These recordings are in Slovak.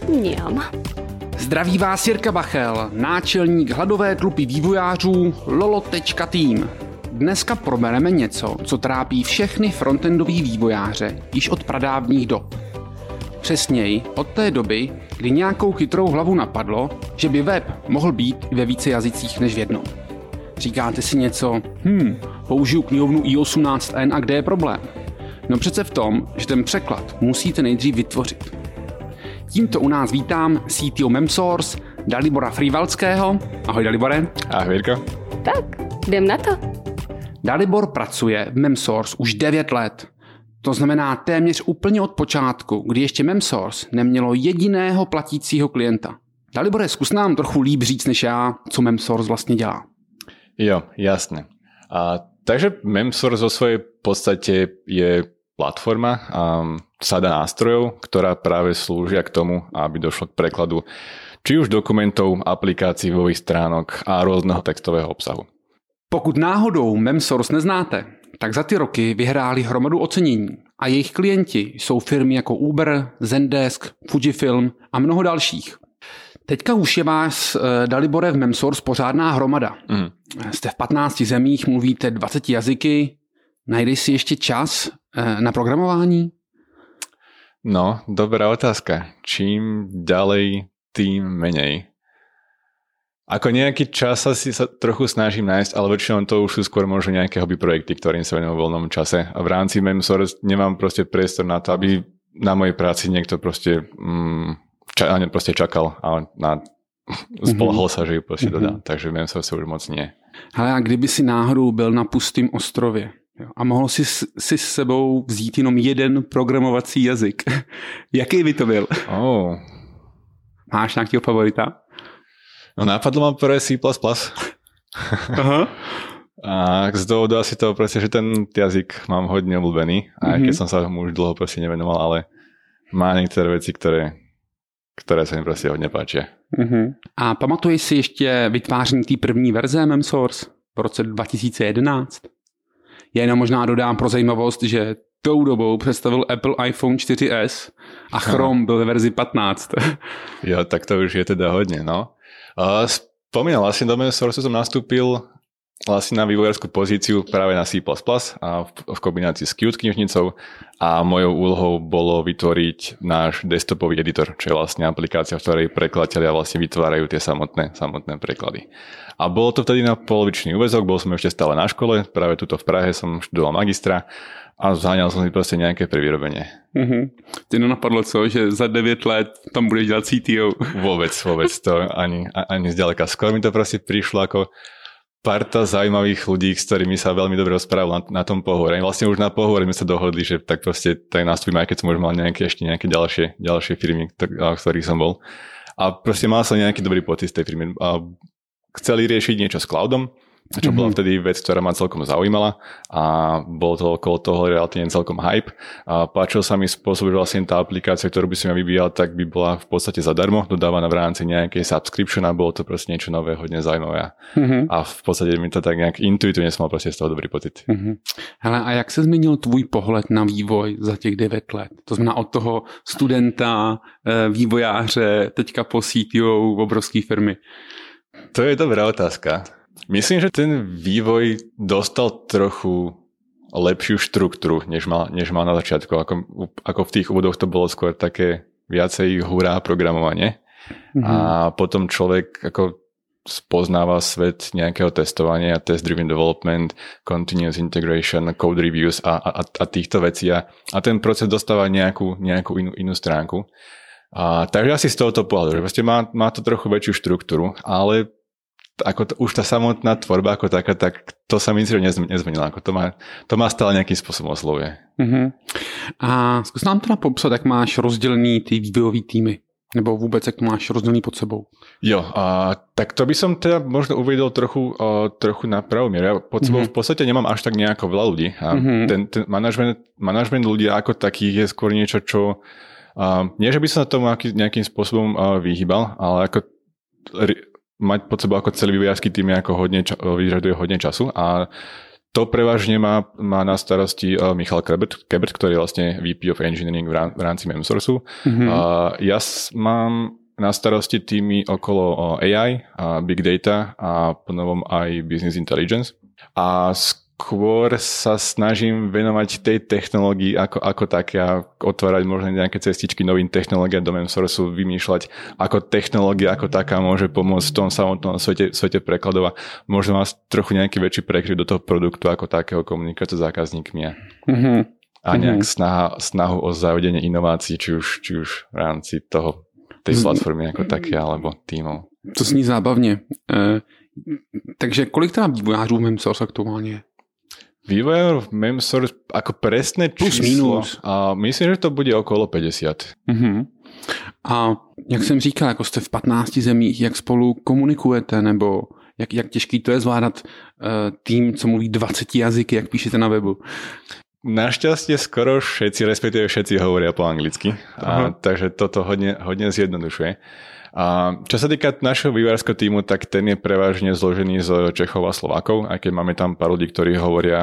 Mňam. Zdraví vás Jirka Bachel, náčelník hladové tlupy vývojářů Lolo.team. Dneska probereme něco, co trápí všechny frontendový vývojáře již od pradávných dob. Přesněji od té doby, kdy nějakou chytrou hlavu napadlo, že by web mohl být i ve více jazycích než v jednom. Říkáte si něco, použiju knihovnu i18n a kde je problém? No přece v tom, že ten překlad musíte nejdřív vytvořit. Tímto u nás vítám CTO Memsource Dalibora Frivalského. Ahoj Dalibore. Ahoj Jirko. Tak, jdem na to. Dalibor pracuje v Memsource už 9 let. To znamená téměř úplně od počátku, kdy ještě Memsource nemělo jediného platícího klienta. Dalibore, zkus nám trochu líp říct než já, co Memsource vlastně dělá. Jo, jasne. Takže Memsource vo svojej podstate je platforma sada nástrojov, ktorá práve slúžia k tomu, aby došlo k prekladu či už dokumentov, aplikácií, webových stránok a rôzneho textového obsahu. Pokud náhodou Memsource neznáte, tak za ty roky vyhráli hromadu ocenění a jejich klienti jsou firmy jako Uber, Zendesk, Fujifilm a mnoho dalších. Teďka už je vás, Dalibore, v Memsource pořádná hromada. Jste v 15 zemích, mluvíte 20 jazyky, najdeš si ještě čas na programování? No, dobrá otázka. Čím ďalej, tým menej. Ako nejaký čas asi sa trochu snažím nájsť, ale väčšinou to už sú skôr možno nejaké hobby projekty, ktorým sa venujem v voľnom čase. A v rámci Memsource nemám proste priestor na to, aby na mojej práci niekto proste čakal a spolahol sa, že ju proste dodá. Takže Memsource už moc nie. Hele, a kdyby si náhodou byl na pustém ostrově a mohl si s sebou vzít jenom jeden programovací jazyk, jaký by to byl? Máš nějakého favorita? No napadlo mám prvé C++. Aha. A z dôvodu asi toho proste, že ten jazyk mám hodne obľúbený. A keď som sa mu už dlho proste nevenoval, ale má niektoré veci, ktoré sa mi proste hodne páčia. A pamatuješ si ještě vytváření té první verze Memsource v roce 2011? Já jenom možná dodám pro zajímavost, že tou dobou představil Apple iPhone 4S a Chrome byl ve verzi 15. Jo, tak to už je teda hodne, no. Spomínal, vlastne do Memsource som nastúpil vlastne na vývojárskú pozíciu práve na C++ a v kombinácii s Qt knižnicou a mojou úlohou bolo vytvoriť náš desktopový editor, čo je vlastne aplikácia, v ktorej prekladatelia vlastne vytvárajú tie samotné preklady. A bolo to vtedy na polovičný úväzok, bol som ešte stále na škole, práve tuto v Prahe som študoval magistra a zháňal som si proste nejaké prevýrobenie. Ty nenapadlo co, že za 9 let tam budeš dělat CTO? Vôbec, to ani zďaleka. Skôr mi to proste prišlo ako parta zaujímavých ľudí, s ktorými sa veľmi dobre rozprával na tom pohovore. Vlastne už na pohovore sme sa dohodli, že tak proste tak nastúpime, aj keď som už mal ešte nejaké ďalšie firmy, v ktorých som bol. A proste mal som nejaký dobrý pocit z tej firmy. A chceli riešiť niečo s cloudom, čo bola vtedy vec, ktorá ma celkom zaujímala a bol to okolo toho relatívne celkom hype. A páčil sa mi spôsob, že vlastne tá aplikácia, ktorú by som ja vyvíjal, tak by bola v podstate zadarmo, dodávaná v rámci nejakej subscription a bolo to proste niečo nové, hodne zaujímavé. A v podstate mi to tak nejak intuitívne som mal proste z toho dobrý pocit. Hele, a jak se změnil tvůj pohled na vývoj za těch 9 let? To znamená od toho studenta, vývojáře, teďka po CTO obrovské firmy. To je dobrá otázka. Myslím, že ten vývoj dostal trochu lepšiu štruktúru, než mal na začiatku. Ako v tých úvodoch to bolo skôr také viacej hurá programovanie. A potom človek ako spoznáva svet nejakého testovania, test-driven development, continuous integration, code reviews a týchto vecí. A ten proces dostáva nejakú inú stránku. Takže asi z tohoto pohľadu, že vlastne má to trochu väčšiu štruktúru, ale už tá samotná tvorba ako taká, tak to sa mi nezmenilo. To má stále nejakým spôsobom oslovuje. A zkus nám teda popsat, jak máš rozdělený ty vývojový týmy. Nebo vůbec, jak to máš rozdělený pod sebou. Jo, tak to by som teda možno uvedol trochu na pravú mieru. Ja pod sebou v podstate nemám až tak nejako veľa ľudí. A ten manažment ľudí ako takých je skôr niečo, čo nie, že by som sa tomu nejakým spôsobom vyhýbal, ale ako mať pod sebou ako celý vývojársky tým ako vyžaduje hodne času a To prevažne má na starosti Michal Kebert, ktorý je vlastne VP of Engineering v rámci Memsourceu. Ja mám na starosti týmy okolo AI, Big Data a ponovom aj Business Intelligence. A skôr sa snažím venovať tej technológii ako také a otvárať možno nejaké cestičky novým technológiám do Memsourceu, vymýšľať, ako technológia ako taká môže pomôcť v tom samotnom svete prekladov a možno vás trochu nejaký väčší prekryv do toho produktu ako takého komunikácie s zákazníkmi a nejak snahu o zavedenie inovácií, či už v rámci tej platformy ako také alebo týmov. To zní zábavně. Takže kolik teda vývojářů v Memsource aktuálně je? Vývojár v Memsource ako presné číslo, myslím, že to bude okolo 50. A jak jsem říkal, jako jste v 15 zemích, jak spolu komunikujete, nebo jak těžký to je zvládat tým, co mluví 20 jazyky, jak píšete na webu? Našťastie skoro všetci, respektíve všetci hovoria po anglicky, takže toto hodne zjednodušuje. A čo sa týka našeho vývojárskeho týmu, tak ten je prevažne zložený z Čechov a Slovákov, aj keď máme tam pár ľudí, ktorí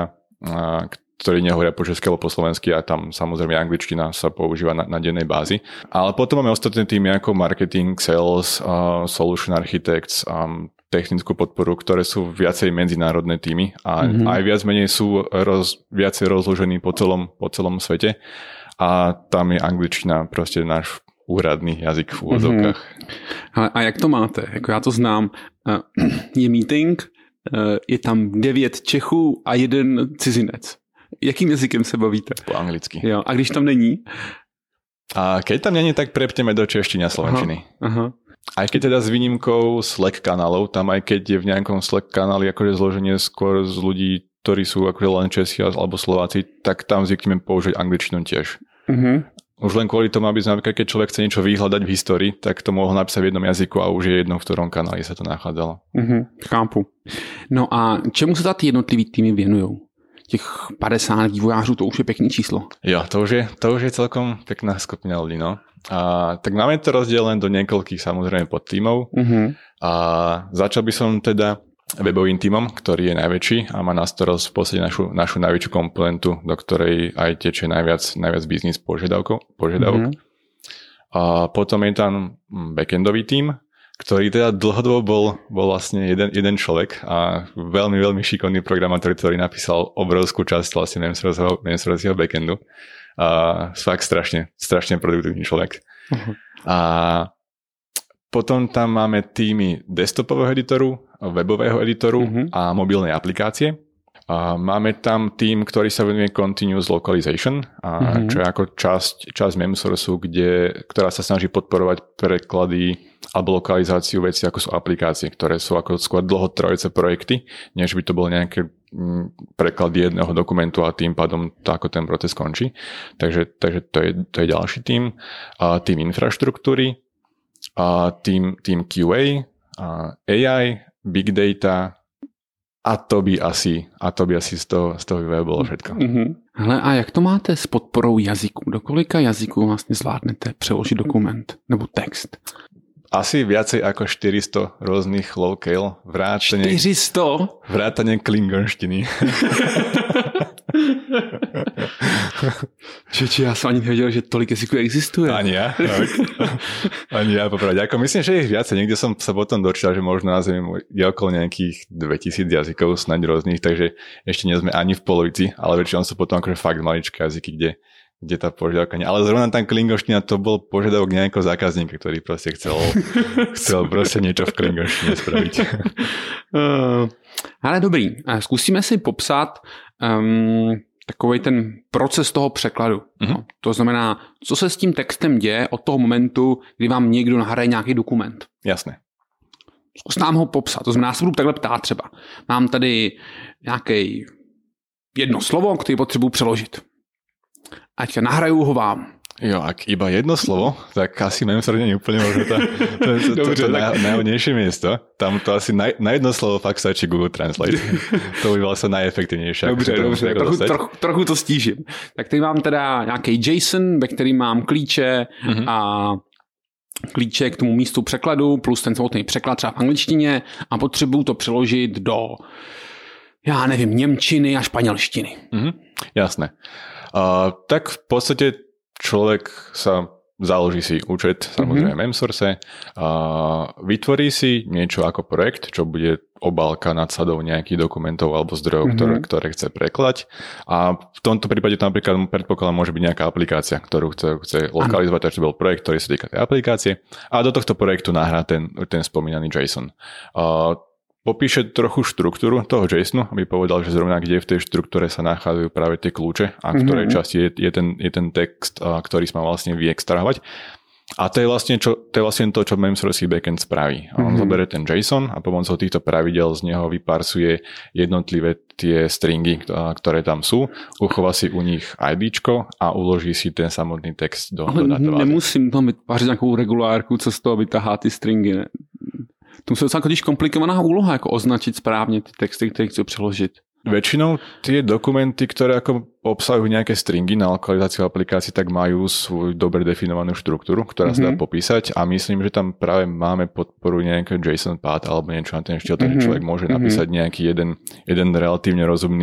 nehovoria po česky alebo po slovensky a tam samozrejme angličtina sa používa na dennej bázi. Ale potom máme ostatné týmy ako marketing, sales, solution architects, technickú podporu, ktoré sú viacej medzinárodné týmy a aj viac menej sú viacej rozložení po celom svete a tam je angličtina proste náš úradný jazyk v úvodzovkách. A jak to máte? Jako já to znám. Je meeting, je tam 9 Čechů a 1 cizinec. Jakým jazykem se bavíte? Po anglicky. Jo. A když tam není? A keď tam není, tak prepneme do češtiny a slovenčiny. Aha. Aj keď teda s výnimkou Slack kanálov, tam aj keď je v nejakom Slack kanáli akože zloženie skôr z ľudí, ktorí sú akože len Česi alebo Slováci, tak tam zvykneme použiť angličtinu tiež. Už len kvôli tomu, aby napríklad, keď človek chce niečo vyhľadať v histórii, tak to mohol napísať v jednom jazyku a už je jedno, v ktorom kanáli sa to nachádzalo. Chápu. No a čemu sa ty jednotlivý týmy věnujou? Těch 50 vývojářů, to už je pekný číslo. Jo, to už je celkom pekná skupina ľudí, no. A tak máme to rozdelené do niekoľkých samozrejme podtímov. A začal by som teda webovým tímom, ktorý je najväčší a má na starosť v podstate našu najväčšiu komponentu, do ktorej aj tečie najviac biznis požiadavok. A potom je tam backendový tím, ktorý teda dlhodobo bol vlastne jeden človek a veľmi, veľmi šikovný programátor, ktorý napísal obrovskú časť vlastne Memsourceho backendu. A fakt strašne produktívny človek. A potom tam máme týmy desktopového editoru, webového editoru a mobilnej aplikácie. A máme tam tým, ktorý sa venuje Continuous Localization, čo je ako časť Memsourceu, ktorá sa snaží podporovať preklady alebo lokalizáciu vecí, ako sú aplikácie, ktoré sú ako skôr dlhotrvajúce projekty, než by to bolo nejaké preklad jedného dokumentu a tým pádom ako ten proces končí. Takže to je ďalší tým. A tým infraštruktúry, a tým QA, AI, Big Data a to by asi z toho vývoje bolo všetko. Hele, a jak to máte s podporou jazyků? Do kolika jazyků vlastně zvládnete přeložit dokument nebo text? Asi viacej ako 400 rôznych locale. 400? Vrátane klingonštiny. Čiže ja som ani nevedel, že tolik jazyků existuje. Ani ja. Ani ja, popravde. Ako myslím, že ich viacej. Niekde som sa potom dočítal, že možno na Zemi je okolo nejakých 2000 jazykov snáď rôznych, takže ešte nie sme ani v polovici, ale väčšinou sú potom akože fakt maličké jazyky, kde tá požiadavka nie. Ale zrovna tam klingonština to bol požiadavok nejakého zákazníka, ktorý proste chcel proste niečo v klingonštine spraviť. Ale dobrý, zkusíme si popsat takový ten proces toho překladu. No, to znamená, co se s tím textem děje od toho momentu, kdy vám někdo nahraje nějaký dokument. Jasné. Zkus nám ho popsat. To znamená, já se budu takhle ptát třeba. Mám tady nějaké jedno slovo, které potřebuji přeložit. Ať nahraju ho vám. Jo, ak iba jedno slovo, tak asi Memsource nie je úplne možno to najhodnejšie miesto. Tam to asi na jedno slovo fakt stačí Google Translate. To by bylo asi najefektivnější. Dobře, trochu to stížím. Tak tady mám teda nějaký JSON, ve kterým mám klíče a klíče k tomu místu překladu, plus ten samotný překlad třeba v angličtině a potřebuju to přeložit do, já nevím, němčiny a španělštiny. Jasné. Tak v podstate človek sa založí si účet, samozrejme Memsource, vytvorí si niečo ako projekt, čo bude obálka nadsadov nejakých dokumentov alebo zdrojov, ktoré chce prekladať. A v tomto prípade to napríklad predpokladám môže byť nejaká aplikácia, ktorú chce lokalizovať, takže to bol projekt, ktorý sa týka tej aplikácie. A do tohto projektu nahrá ten spomínaný JSON. Popíše trochu štruktúru toho JSONu, aby povedal, že zrovna kde v tej štruktúre sa nachádzajú práve tie kľúče a v ktorej časti je ten text, ktorý sa má vlastne vyextrahovať. A to je vlastne to, čo Memsource backend spraví. A on zoberie ten JSON a pomocou týchto pravidel z neho vyparsuje jednotlivé tie stringy, ktoré tam sú, uchová si u nich IDčko a uloží si ten samotný text do databáze. Nemusím tam vytvářet nějakou regulárku, co z toho vytahá ty stringy, ne? To je docela totiž komplikovaná úloha, jako označit správně ty texty, které chci přeložit. Väčšinou tie dokumenty, ktoré ako obsahujú nejaké stringy na lokalizáciu aplikácií, tak majú svoju dobre definovanú štruktúru, ktorá sa dá popísať a myslím, že tam práve máme podporu nejakého JSON path alebo niečo na ten štýl, takže človek môže napísať nejaký jeden relatívne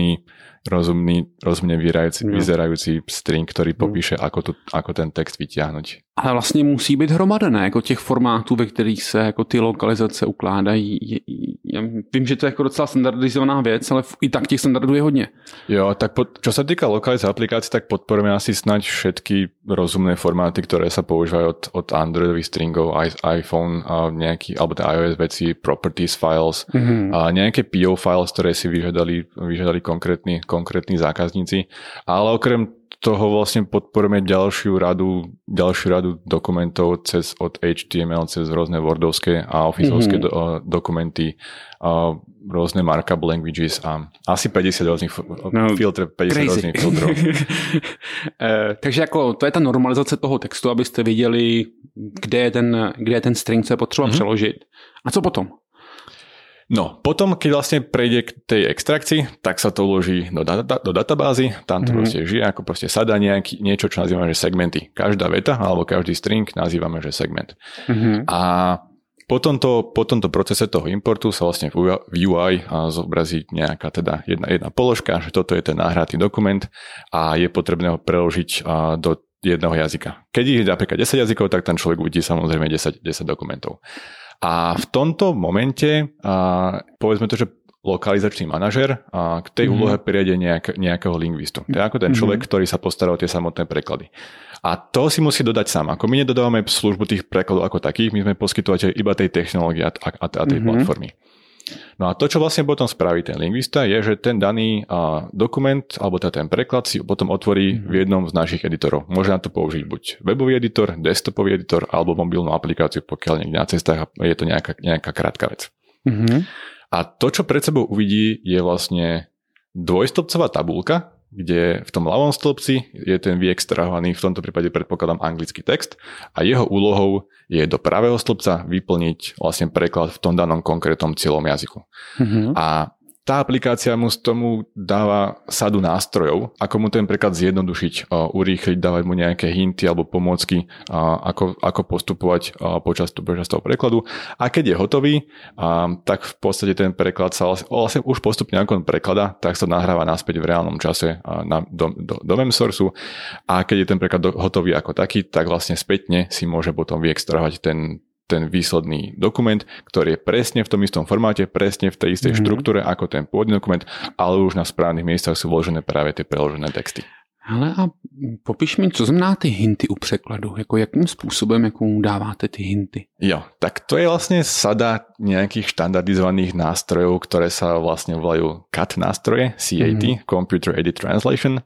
rozumne vyzerajúci string, ktorý popíše, ako ten text vyťahnuť. Ale vlastně musí být hromadené, jako těch formátů, ve kterých se jako ty lokalizace ukládají. Já vím, že to je jako docela standardizovaná věc, ale i tak těch standardů je hodně. Jo, tak čo sa týka lokalizácie aplikácií, tak podporujeme asi snáď všetky rozumné formáty, ktoré sa používajú od Androidových stringov, iPhone, nejaký, alebo iOS veci, properties files, a nejaké PO files, ktoré si vyžadali konkrétni zákazníci. Ale okrem toho vlastne podporujeme ďalšiu radu dokumentov od HTML cez rôzne wordovské a officeovské dokumenty, rôzne markup languages a asi 50 rôznych rôznych filtrov. Takže jako to je ta normalizace toho textu, abyste viděli, kde je ten string, co je potřeba přeložit. A co potom? No, potom, keď vlastne prejde k tej extrakcii, tak sa to uloží do databázy, tam to proste žije, ako proste sadá niečo, čo nazývame, že segmenty. Každá veta, alebo každý string nazývame, že segment. A po tomto procese toho importu sa vlastne v UI zobrazí nejaká teda jedna položka, že toto je ten nahratý dokument a je potrebné ho preložiť do jedného jazyka. Keď ich je napríklad 10 jazykov, tak ten človek uvidí samozrejme 10 dokumentov. A v tomto momente, povedzme to, že lokalizačný manažer k tej úlohe prijede nejakého lingvistu. To je ako ten človek, ktorý sa postará o tie samotné preklady. A to si musí dodať sám. Ako my nedodávame službu tých prekladov ako takých, my sme poskytovateľi iba tej technológie a tej platformy. No a to, čo vlastne potom spraví ten lingvista, je, že ten daný dokument, alebo ten preklad si potom otvorí v jednom z našich editorov. Môže na to použiť buď webový editor, desktopový editor, alebo mobilnú aplikáciu, pokiaľ niekde na cestách je to nejaká krátka vec. A to, čo pred sebou uvidí, je vlastne dvojstĺpcová tabulka, kde v tom ľavom stĺpci je ten vyextrahovaný, v tomto prípade predpokladám anglický text a jeho úlohou je do pravého stĺpca vyplniť vlastne preklad v tom danom konkrétnom cieľom jazyku. A tá aplikácia mu z tomu dáva sadu nástrojov, ako mu ten preklad zjednodušiť, urýchliť, dávať mu nejaké hinty alebo pomôcky, ako postupovať počas toho prekladu. A keď je hotový, tak v podstate ten preklad sa vlastne už postupne ako on preklada, tak sa nahráva naspäť v reálnom čase do Memsourceu. A keď je ten preklad hotový ako taký, tak vlastne spätne si môže potom vyextrahovať ten výsledný dokument, ktorý je presne v tom istom formáte, presne v tej istej štruktúre ako ten pôvodný dokument, ale už na správnych miestach sú vložené práve tie preložené texty. Hele, a popiš mi, co znamená ty hinty u překladu? Jako jakým způsobem dáváte ty hinty? Jo, tak to je vlastne sada nejakých štandardizovaných nástrojov, ktoré sa vlastne volajú CAT nástroje, CAT, Computer Aided Translation.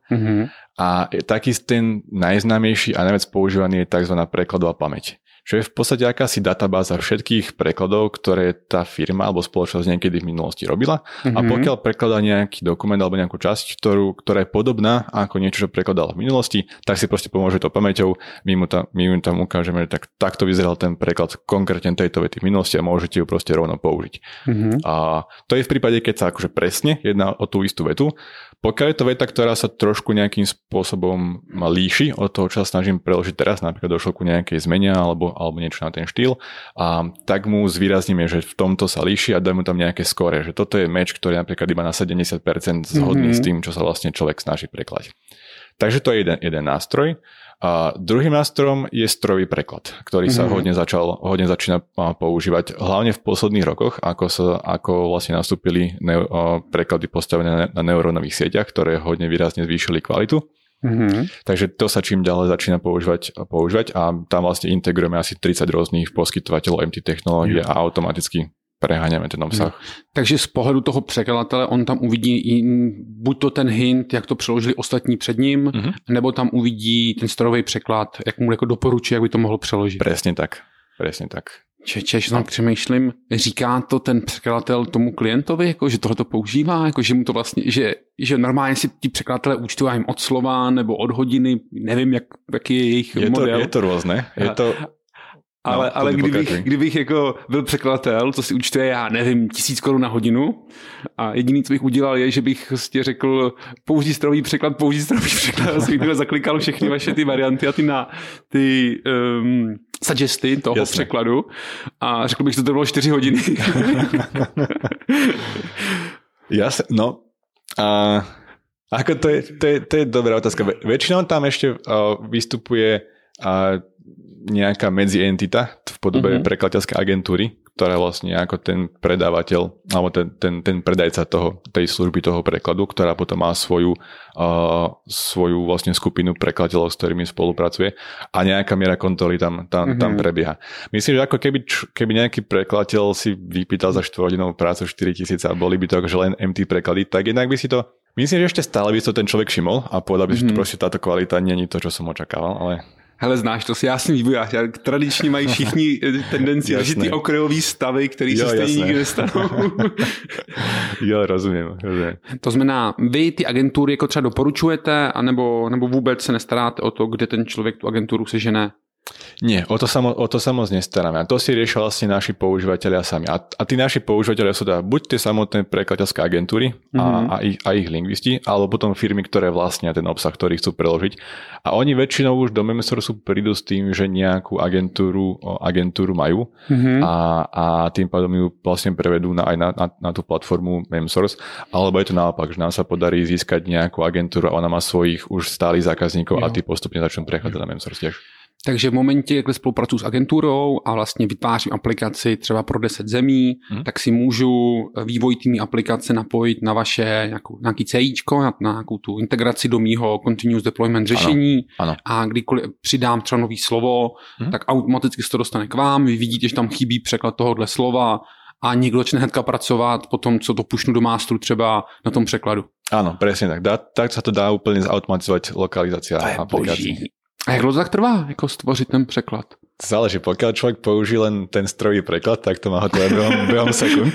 A taký ten najznámejší a najviac používaný je tzv. Prekladová pamäť. Čo je v podstate akási databáza všetkých prekladov, ktoré tá firma alebo spoločnosť niekedy v minulosti robila. A pokiaľ prekladá nejaký dokument alebo nejakú časť, ktorá je podobná ako niečo, čo prekladal v minulosti, tak si proste pomôže to pamäťou. My mu tam ukážeme, že takto vyzeral ten preklad konkrétne tejto vety v minulosti a môžete ju proste rovno použiť. A to je v prípade, keď sa akože presne jedná o tú istú vetu. Pokiaľ je to veta, ktorá sa trošku nejakým spôsobom líši od toho, čo sa snažím preložiť teraz, napríklad došlo ku nejakej zmene alebo niečo na ten štýl, a tak mu zvýrazníme, že v tomto sa líši a dáme mu tam nejaké skóre, že toto je meč, ktorý je napríklad iba na 70% zhodný s tým, čo sa vlastne človek snaží preklať. Takže to je jeden nástroj. A druhým nástrojom je strojový preklad, ktorý sa hodne začína používať, hlavne v posledných rokoch, ako vlastne nastúpili preklady postavené na neurónových sieťach, ktoré hodne výrazne zvýšili kvalitu. Takže to sa čím ďalej začína používať a tam vlastne integrujeme asi 30 rôznych poskytovateľov MT technológie a automaticky preháňame ten obsah. Takže z pohledu toho překladatele on tam uvidí buď to ten hint, jak to přeložili ostatní před ním, nebo tam uvidí ten strojový překlad, jak mu jako doporučí, jak by to mohl přeložit. Presne tak. Čež tam přemýšlím, říká to ten překladatel tomu klientovi, jako, že tohle to používá, jako, že mu to vlastně, že normálně si ti překladatelé účtují jim od slova nebo od hodiny, nevím, jaký je jejich model. Je to různé. Ale kdybych jako byl překladatel, co si účtuje, já nevím, 1000 korun na hodinu a jediný, co bych udělal, je, že bych prostě řekl použij strojový překlad, a jsem zaklikal všechny vaše ty varianty a ty suggesty toho překladu a řekl bych, že to bylo 4 hodiny. Jasne, no. Ako to je dobrá otázka. Väčšinou tam ešte vystupuje nejaká medzientita v podobe prekladateľskej agentúry, ktorá vlastne ako ten predávateľ alebo ten predajca tej služby toho prekladu, ktorá potom má svoju vlastne skupinu prekladateľov, s ktorými spolupracuje a nejaká miera kontroly tam prebieha. Myslím, že ako keby nejaký prekladateľ si vypýtal za 4-hodinovú prácu 4 000 a boli by to akože len MT preklady, tak jednak by si to, myslím, že ešte stále by si to ten človek všimol a povedal by si, že proste táto kvalita nie je to, čo som očakával, ale... Hele, znáš to, já jsem vývojář. Tradičně mají všichni tendenci řešit ty okrajové stavy, které se stejně nikdy nestanou. Jo, rozumím. To znamená, vy ty agentury jako třeba doporučujete, anebo vůbec se nestaráte o to, kde ten člověk tu agenturu sežene? Nie, o to sa moc nestaráme. A to si riešia vlastne naši používateľia sami. A tí naši používateľia sú teda buď tie samotné prekladateľské agentúry a ich lingvisti, alebo potom firmy, ktoré vlastnia ten obsah, ktorý chcú preložiť. A oni väčšinou už do Memsourcu prídu s tým, že nejakú agentúru majú a tým pádom ju vlastne prevedú aj na tú platformu Memsource. Alebo je to naopak, že nám sa podarí získať nejakú agentúru a ona má svojich už stálych zákazníkov a tí postupne začnú prechádzať na Memsource tiež. Takže v momentě, jak spolupracuji s agenturou a vlastně vytvářím aplikaci třeba pro 10 zemí, tak si můžu vývoj týmní aplikace napojit na vaše nějaký CIčko, na nějakou tu integraci do mýho continuous deployment řešení. Ano. A kdykoliv přidám třeba nový slovo, tak automaticky se to dostane k vám. Vy vidíte, že tam chybí překlad tohohle slova a někdo začne hnedka pracovat po tom, co to pušnu do masteru třeba na tom překladu. Áno, presne tak. Tak sa to dá úplne zautomatizovať lokalizácia aplikácií. A jak dlouho tak trvá, jako stvořit ten překlad? Záleží, pokiaľ človek použije len ten strojový preklad, tak to má hotové behom sekúnd.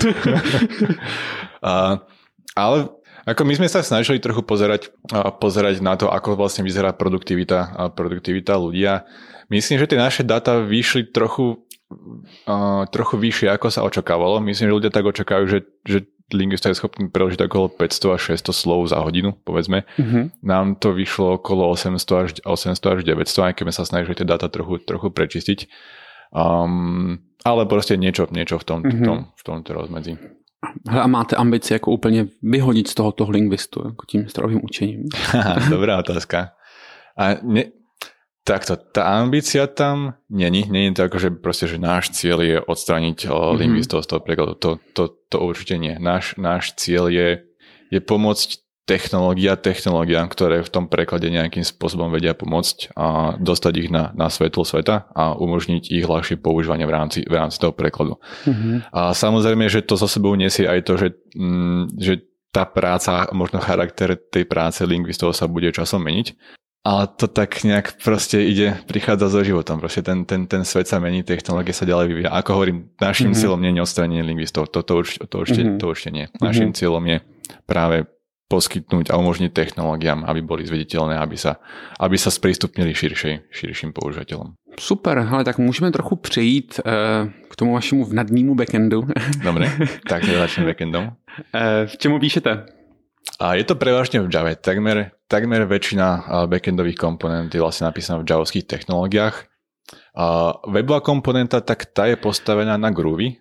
Ale ako my sme sa snažili trochu pozerať na to, ako vlastne vyzerá produktivita ľudí. Myslím, že tie naše dáta vyšli trochu vyššie, ako sa očakávalo. Myslím, že ľudia tak očakávajú, že lingvista je schopný preložiť okolo 500 až 600 slov za hodinu, povedzme. Nám to vyšlo okolo 800 až 900, aj keď sme sa snažili tie dáta trochu prečistiť. Ale proste niečo v tomto rozmedzi. A máte ambici jako úplně vyhodit z tohoto lingvistu, jako tím strojovým učením? Dobrá otázka. Takto, tá ambícia tam není to ako, že proste, že náš cieľ je odstrániť lingvistov z toho prekladu. To určite nie. Náš cieľ je pomôcť technológiám, ktoré v tom preklade nejakým spôsobom vedia pomôcť a dostať ich na svetlo sveta a umožniť ich ľahšie používanie v rámci toho prekladu. A samozrejme, že to so sebou nesie aj to, že tá práca, možno charakter tej práce lingvistov sa bude časom meniť. Ale to tak nejak proste prichádza so životom. Proste ten svet sa mení, technológie sa ďalej vyvíja. Ako hovorím, našim cieľom nie je odstránenie lingvistov. To určite nie. Našim cieľom je práve poskytnúť a umožniť technológiám, aby boli zvediteľné, aby sa sprístupnili širším používateľom. Super, ale tak můžeme trochu přejít k tomu vašemu vnadnému backendu. Dobre, tak začneme backendom. V čemu píšete? A je to prevažne v Java. Takmer väčšina backendových komponent je vlastne napísaná v javovských technológiách. Webová komponenta, tak tá je postavená na Groovy.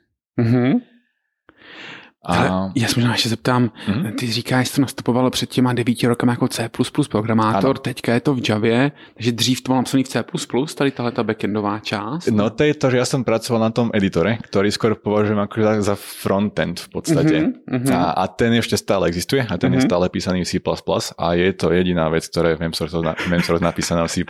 Já se možná ještě zeptám, ty říkáš, že to nastupovalo před těma 9 rokama jako C++ programátor, ano. Teďka je to v Javě, takže dřív to bylo napsaný v C++, tady tahleta backendová část. No to je to, že ja som pracoval na tom editore, ktorý skôr považujem ako za frontend v podstate. A ten ešte stále existuje a ten je stále písaný v C++ a je to jediná vec, ktorá je v Memsource napísaná v C++.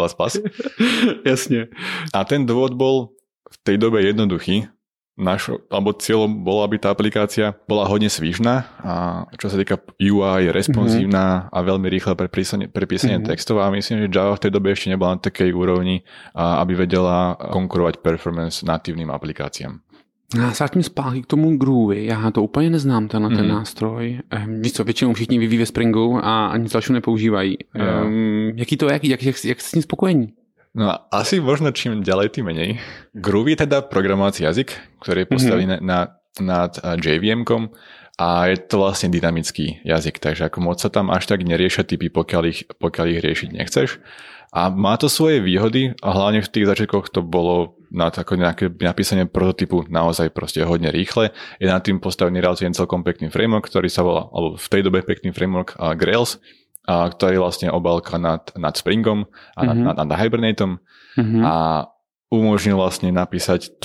Jasne. A ten dôvod bol v tej dobe jednoduchý. Alebo cieľom bolo, aby tá aplikácia bola hodne svižná a čo sa týka UI, responsívna a veľmi rýchle pre písanie textov a myslím, že Java v tej dobe ešte nebola na takej úrovni, aby vedela konkurovať performance natívnym aplikáciám. Já se vrátím zpátky k tomu Groovy. Já to úplně neznám, ten nástroj. Víš co, většinou všichni vyvíjí ve Springu a nic dalšího nepoužívají. Jaký to je? Jak jste s tím spokojení? No asi možno čím ďalej, tým menej. Groovy je teda programovací jazyk, ktorý je postavený nad JVM-kom a je to vlastne dynamický jazyk, takže ako moc sa tam až tak neriešia typy, pokiaľ ich riešiť nechceš. A má to svoje výhody a hlavne v tých začiatkoch to bolo na nejaké napísanie prototypu naozaj proste hodne rýchle. Je nad tým postavený relatívne celkom pekný framework, ktorý sa volá, alebo v tej dobe pekný framework Grails, ktorý je vlastne obálka nad Springom a nad Hibernatom a umožnil vlastne napísať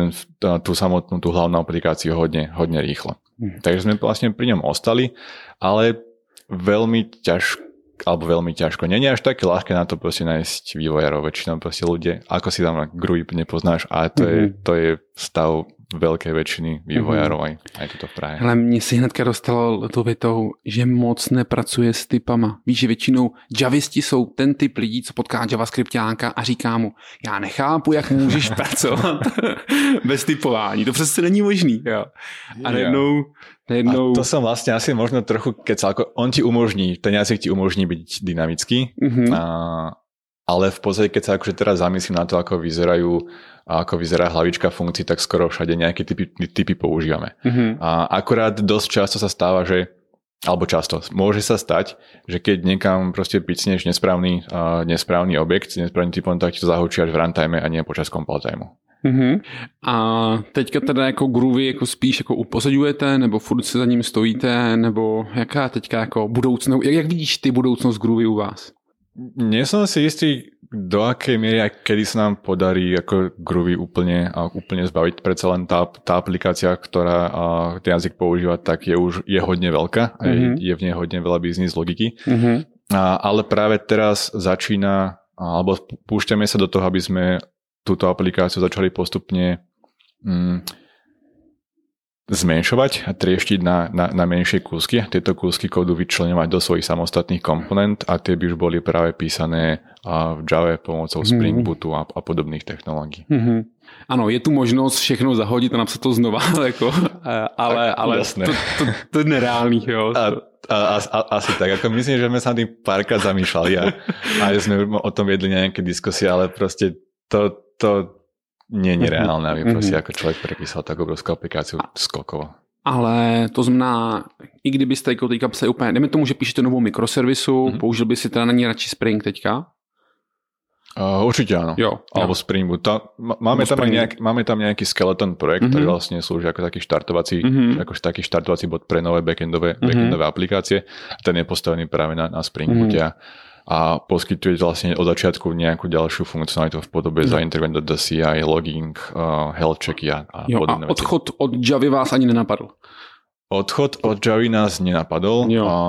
tú samotnú, tú hlavnú aplikáciu hodne rýchlo. Takže sme vlastne pri ňom ostali, ale veľmi ťažko. Nie je až také ľahké na to proste nájsť vývojárov. Väčšinou proste ľudia, ako si tam Groovy nepoznáš, ale to je stav veľké väčšiny vývojárov aj tuto v Prahe. Ale mně si hnedka dostalo tou větou, že moc nepracuje s typama. Víš, že většinou javisti jsou ten typ lidí, co potká javascriptáka a říká mu, já nechápu, jak můžeš pracovat bez typování. To přece není možný. Jo. A najednou... A to som vlastne asi možno trochu kecal, ako on ti umožní, ten jazyk ti umožní byť dynamický, ale v podstate, keď sa akože teraz zamyslím na to, ako vyzerá hlavička funkcií, tak skoro všade nejaké typy používame. A akurát dosť často sa stáva, môže sa stať, že keď niekam proste picneš nesprávny objekt, nesprávny typom, tak ti to zahučí až v runtime a nie počas compile timeu. A teďka teda jako Groovy jako spíš jako upozaďujete, nebo furt se za ním stojíte, nebo jaká teďka jako budoucnost, jak vidíš ty budoucnost Groovy u vás? Nie som si istý, do akej miery a kedy sa nám podarí ako Groovy úplne zbaviť. Predsa len tá aplikácia, ktorá ten jazyk používa, tak je hodne veľká a je v nej hodne veľa biznis logiky. Ale práve teraz začína, alebo púšťame sa do toho, aby sme túto aplikáciu začali postupne zmenšovať a trieštiť na menšie kúsky. Tieto kúsky kódu vyčleňovať do svojich samostatných komponent a tie by už boli práve písané v Java pomocou Spring Bootu a podobných technológií. Ano, je tu možnost všechno zahodit a napsat to znova, jako, ale to je nereálný. Jo. Asi tak, ako myslím, že sme sa tým párkrát zamýšľali a sme o tom viedli nejaké diskusie, ale proste to nie je nereálne, aby prostě jako člověk prepísal tak obrovskou aplikáciu skokovo. Ale to znamená, i kdybyste jako teďka psali úplně, dejme tomu, že píšete novou mikroservisu, použil by si teda na ní radši Spring teďka? Určite áno. Jo. Alebo Spring Boot. Máme tam nejaký skeleton projekt, ktorý vlastne slúži ako taký štartovací bod pre nové backendové aplikácie. Ten je postavený práve na Spring Boote a poskytuje vlastne od začiatku nejakú ďalšiu funkcionalitu v podobe zaintervent do CI, logging, health checky a podobné veci. Odchod od Javy vás ani nenapadl? Odchod od Javy nás nenapadol.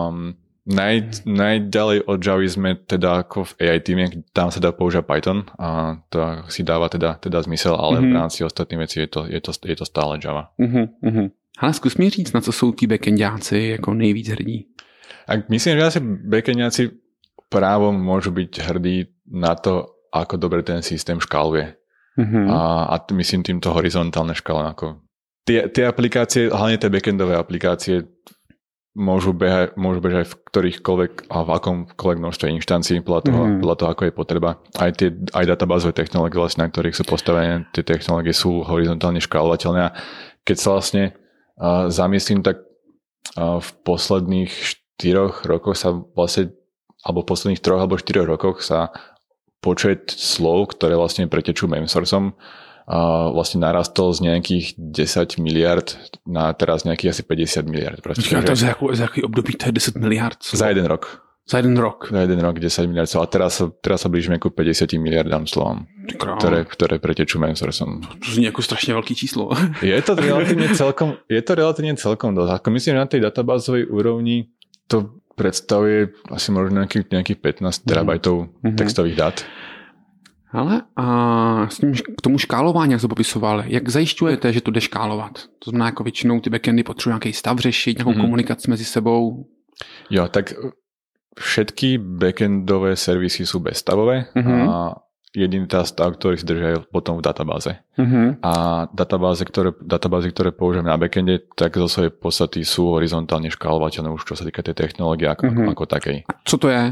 Najďalej od Javy sme teda ako v AI týme, tam sa dá používať Python a to si dáva teda zmysel, ale v rámci ostatných vecí je to stále Java. Ale zkus mi říct, na co jsou tí backendáci jako nejvíc hrdí? Myslím, že asi backendáci právom môžu byť hrdí na to, ako dobre ten systém škáluje. A myslím týmto horizontálne škále. Tie aplikácie, hlavne tie backendové aplikácie, môžu bežať v ktorýchkoľvek a v akomkoľvek množstve inštancií podľa toho, ako je potreba. Aj databázové technológie, vlastne, na ktorých sú postavené, tie technológie sú horizontálne škálovateľné. A keď sa vlastne zamyslím, tak v posledných 4 rokoch sa vlastne, alebo v posledných 3 alebo 4 rokoch sa počet slov, ktoré vlastne pretečú memsourceom, vlastne narastol z nejakých 10 miliard na teraz nejakých asi 50 miliard. Počkej, to za jaký období to je 10 miliard? Za jeden rok. Za jeden rok? Za jeden rok 10 miliard slov. A teraz sa blížime ku 50 miliardám slovom, ktoré pretečú memsourceom. To zní ako strašne veľký číslo. Je to relatívne celkom dosť. Ako myslím, že na tej databázovej úrovni to predstavuje asi možno nejakých 15 terabajtov textových dát. Ale a k tomu škálování, jak jste popisoval, jak zajišťujete, že to jde škálovat? To znamená, jako většinou ty backendy potřebují nějaký stav řešit, nějakou komunikaci mezi sebou? Jo, tak všetky backendové servisy sú bezstavové a jediný tá stav, ktorý si držia potom v databáze. A databázy, ktoré použijeme na backende, tak zo svojej podstaty sú horizontálne škálovateľné už čo sa týka tej technológie ako takej. A co to je?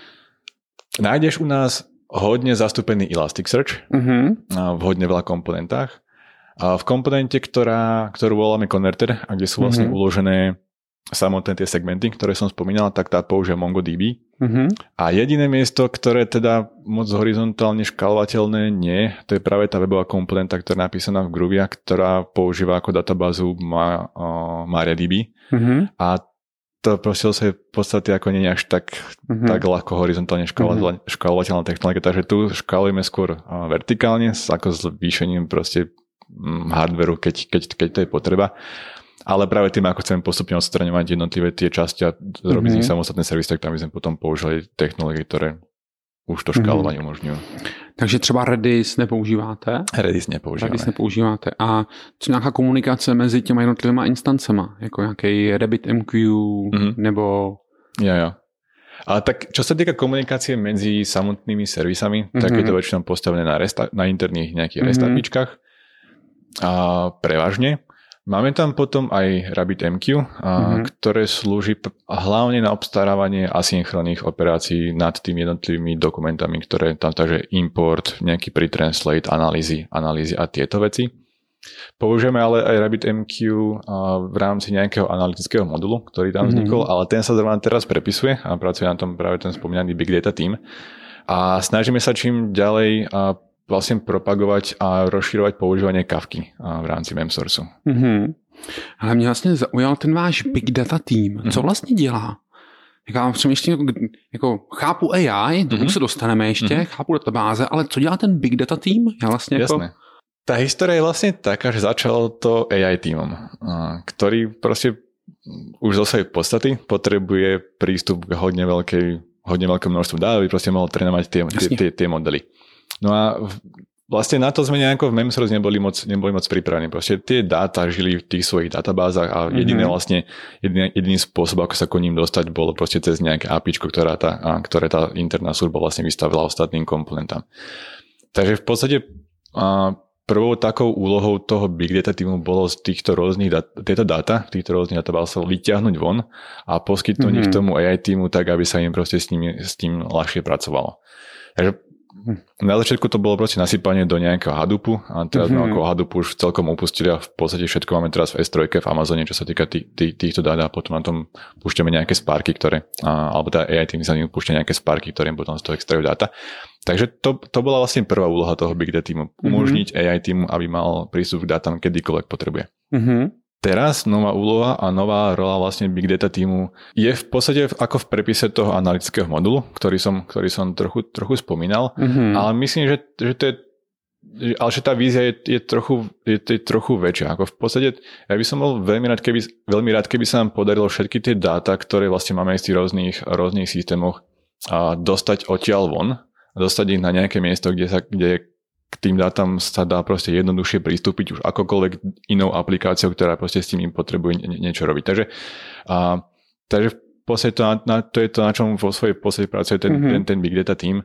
Nájdeš u nás hodne zastúpený Elasticsearch v hodne veľa komponentách. A v komponente, ktorú voláme konverter, a kde sú vlastne uložené samotné tie segmenty, ktoré som spomínal, tak tá používa MongoDB. A jediné miesto, ktoré teda moc horizontálne škálovateľné nie, to je práve tá webová komponenta, ktorá je napísaná v Groovy, ktorá používa ako databázu MariaDB. A to proste sa v podstate ako nie je až tak ľahko horizontálne škálovateľná technológia, takže tu škálujeme skôr vertikálne, ako s zvýšením proste hardveru, keď to je potreba. Ale práve tým, ako chceme postupne odstraňovať jednotlivé tie časti a robiť z nich samostatné servisy, tak tam by sme potom použili technológie, ktoré už to škálovanie umožňujú. Takže třeba Redis nepoužíváte? Redis nepoužíváte. A co nějaká komunikace mezi těma jednotlivými instancema? Jako nějaký RabbitMQ nebo... Jo. Ale tak, čo sa týka komunikácie medzi samotnými servisami, tak je to väčšinou postavené na interných nejakých REST APIčkách. A prevažne. Máme tam potom aj RabbitMQ, ktoré slúži hlavne na obstarávanie asynchronných operácií nad tými jednotlivými dokumentami, ktoré tam, takže import, nejaký pretranslate, analýzy a tieto veci. Použijeme ale aj RabbitMQ v rámci nejakého analytického modulu, ktorý tam vznikol, ale ten sa zrovna teraz prepisuje a pracuje na tom práve ten spomínaný Big Data Team. A snažíme sa čím ďalej vlastne propagovať a rozširovať používanie Kafky v rámci memsourceu. Ale mě vlastně zaujal ten váš Big Data Team. Co vlastně dělá? Já přemýšlím, jako chápu AI, tomu se dostaneme ještě, chápu databáze, ale co dělá ten Big Data Team? Já vlastně Jasné. Tá história je vlastne taká, že začalo to AI týmom, ktorý proste už zo svojej podstaty potrebuje prístup k hodne veľké množstvu dát, aby proste mohol trénovať tie modely. No a vlastne na to sme nejako v Memsource neboli moc pripravení. Proste tie dáta žili v tých svojich databázach a jediný spôsob, ako sa k ním dostať, bolo proste cez nejaké APIčko, ktoré tá interná služba vlastne vystavila ostatným komponentám. Takže v podstate prvou takou úlohou toho Big Data týmu bolo z týchto rôznych tieto dáta, týchto rôznych databázov vyťahnuť von a poskytnúť ich tomu AI týmu tak, aby sa im proste s tým ľahšie pracovalo. Takže na začiatku to bolo proste nasypanie do nejakého Hadoopu a teraz sme ako Hadoop už celkom upustili a v podstate všetko máme teraz v S3 v Amazone, čo sa týka týchto dát a potom na tom púšťame nejaké Sparky, alebo tá AI tým sa ním púšťa nejaké Sparky, ktoré potom z toho extrahujú dáta. Takže to bola vlastne prvá úloha toho Big Data týmu. Umožniť AI týmu, aby mal prístup k dátam kedykoľvek potrebuje. Teraz nová úloha a nová rola vlastne Big Data týmu je v podstate ako v prepise toho analytického modulu, ktorý som trochu spomínal, ale myslím, že to je, ale že tá vízia je trochu väčšia. Ako v podstate ja by som bol veľmi rád, keby sa nám podarilo všetky tie dáta, ktoré vlastne máme z tých rôznych systémoch dostať odtiaľ von, dostať ich na nejaké miesto, kde k tým dátam sa dá proste jednoduchšie pristúpiť už akokoľvek inou aplikáciou, ktorá proste s tým potrebuje niečo robiť. Takže v podstate to je to, na čom vo svojej podstate pracuje ten Big Data team.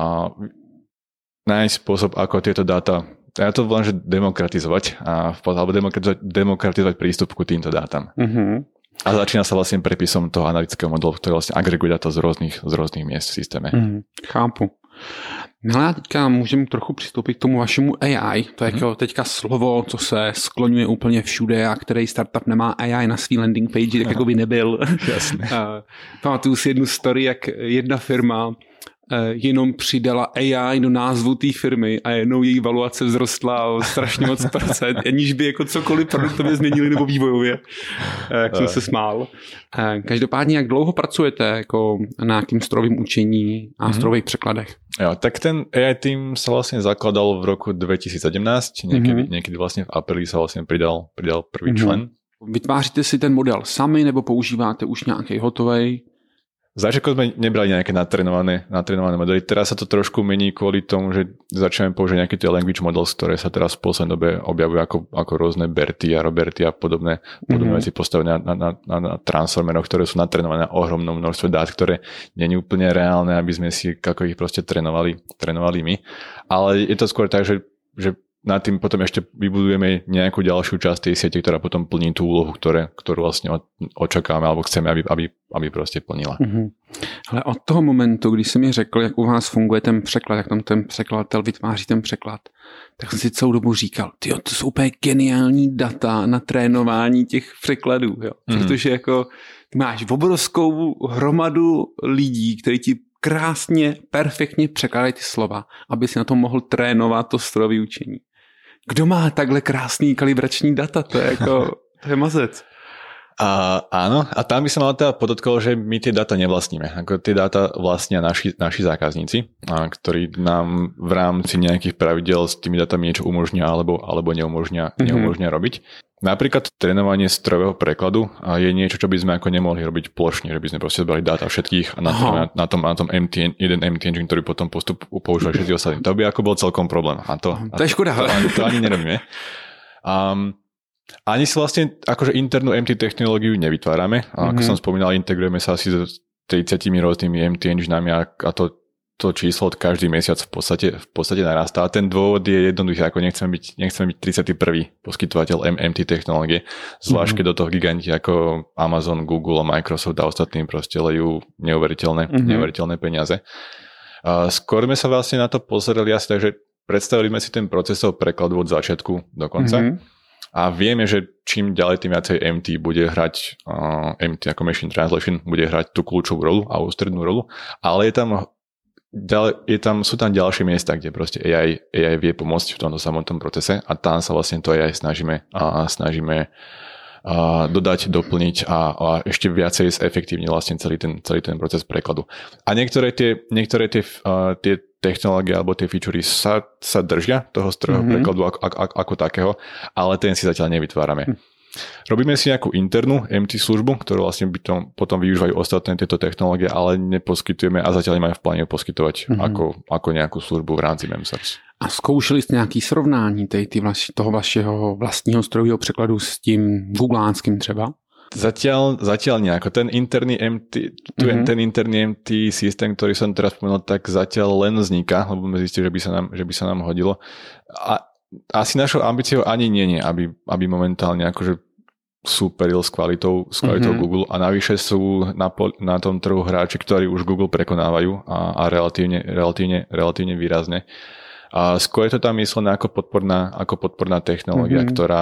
Nájsť spôsob, ako tieto dáta, ja to volám, že demokratizovať, alebo demokratizovať prístup ku týmto dátam. A začína sa vlastne prepisom toho analytického modelu, ktorý vlastne agreguje dáta z rôznych miest v systéme. Chápu. No já teďka můžeme trochu přistoupit k tomu vašemu AI. To je jako teďka slovo, co se skloňuje úplně všude a který startup nemá AI na svý landing page, tak jako by nebyl. Jasně. Pamatuju si jednu story, jak jedna firma jenom přidala AI do názvu té firmy a jednou její valuace vzrostla o strašně moc procent, aniž by jako cokoliv produktově změnili nebo vývojově. Jak jsem se smál. Každopádně, jak dlouho pracujete jako na nějakým strojovým učení a strojových překladech? Jo, tak ten AI tým sa vlastne zakladal v roku 2017, niekedy vlastne v apríli sa vlastne pridal prvý člen. Vytváříte si ten model sami nebo používáte už nějaký hotovej? V začiatku sme nebrali nejaké natrénované modely. Teraz sa to trošku mení kvôli tomu, že začneme použiť nejaké tie language models, ktoré sa teraz v poslednej dobe objavujú ako rôzne Berty a Roberty a podobné veci postavené na transformeroch, ktoré sú natrénované na ohromnom množstve dát, ktoré nie je úplne reálne, aby sme si ako ich proste trénovali my. Ale je to skôr tak, že nad tým potom ešte vybudujeme nejakú ďalšiu časť tej siete, ktorá potom plní tú úlohu, ktorú vlastne očakávame alebo chceme, aby prostě plnila. Ale od toho momentu, kdy jsi mi řekl, jak u vás funguje ten překlad, jak tam ten překladatel vytváří ten překlad, tak jsem si celou dobu říkal, tyjo, to jsou úplně geniální data na trénování těch překladů, jo. Protože jako ty máš obrovskou hromadu lidí, kteří ti krásně, perfektně překládají ty slova, aby si na tom mohl trénovat to strojové učení. Kdo má takhle krásný kalibrační data? To je jako, to je mazec. Áno, a tam by som mal teda podotkol, že my tie data nevlastníme. Ako tie data vlastnia naši zákazníci, ktorí nám v rámci nejakých pravidel s tými datami niečo umožnia alebo neumožnia robiť. Napríklad trénovanie strojového prekladu je niečo, čo by sme ako nemohli robiť plošne, že by sme proste zbrali dáta všetkých a na tom jeden MT engine, ktorý potom používali všetci ostatní. To by ako bol celkom problém. To je škoda. To ani nerobíme. Ani si vlastne akože internú MT technológiu nevytvárame. Ako som spomínal, integrujeme sa asi s 30 rôznymi MT enginami a to číslo od každý mesiac v podstate narastá. A ten dôvod je jednoduchý, ako nechceme byť 31. poskytovateľ MT technológie, zvlášť keď do toho giganti ako Amazon, Google a Microsoft a ostatní proste lejú neuveriteľné peniaze. Skôr sme sa vlastne na to pozerali asi tak, že predstavili sme si ten procesov prekladu od začiatku do konca. A vieme, že čím ďalej, tým viacej MT bude hrať, MT ako Machine Translation bude hrať tú kľúčovú rolu a ústrednú rolu, ale sú tam ďalšie miesta, kde proste AI vie pomôcť v tomto samotnom procese a tam sa vlastne to AI snažíme dodať, doplniť a ešte viacej zefektívniť vlastne celý ten proces prekladu. A niektoré tie technológie alebo tie featurey sa držia toho strojového prekladu ako takého, ale ten si zatiaľ nevytvárame. Robíme si nejakú internú MT službu, ktorú vlastne potom využívajú ostatné tieto technológie, ale neposkytujeme a zatiaľ nemáme v pláne poskytovať ako nejakú službu v rámci MemSource. A zkoušeli jste nějaký srovnání toho vašeho vlastního strojového překladu s tím googlánským třeba? Zatiaľ nejako. Ten interný MT systém, ktorý som teraz spomenul, tak zatiaľ len vzniká, lebo sme zistili, že by sa nám hodilo. A asi našou ambíciou ani nie, aby momentálne akože superil s kvalitou Google a navyše sú na tom trhu hráči, ktorí už Google prekonávajú a relatívne výrazne. A skôr je to tam myslené ako podporná technológia,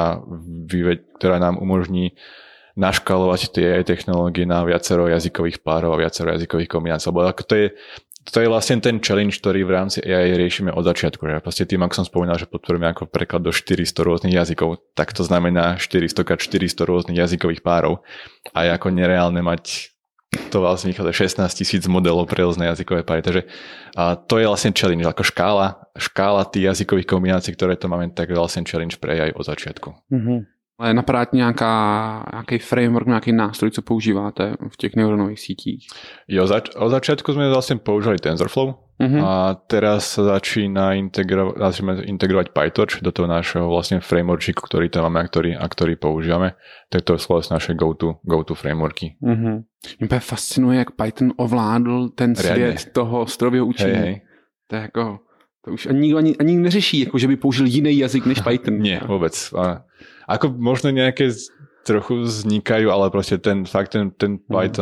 ktorá nám umožní naškalovať tie AI technológie na viacero jazykových párov a viacero jazykových kombinácií. Lebo to je vlastne ten challenge, ktorý v rámci AI riešime od začiatku. Že proste tým, ako som spomínal, že podporujeme ako preklad do 400 rôznych jazykov, tak to znamená 400x400 rôznych jazykových párov. A je ako nereálne mať to vlastne vychádza 16 000 modelov pre rôzne jazykové páry. Takže to je vlastne challenge. Ako škála tých jazykových kombinácií, ktoré to máme, tak je vlastne challenge pre AI od začiatku. Ale napadá nějaký framework, nějaký nástroj, co používáte v těch neuronových sítích? Jo, od začiatku sme vlastne používali TensorFlow a teraz sa začneme integrovať PyTorch do toho našeho vlastne frameworku, ktorý tam máme a ktorý používame. Tak to sú vlastne naše go-to frameworky. Mě fascinuje, jak Python ovládl ten svět toho strojového učení. Hej. To je jako... To už ani neřeší, jako že by použil jiný jazyk než Python. Nie, vôbec. Ako možno nejaké trochu vznikajú, ale proste ten Python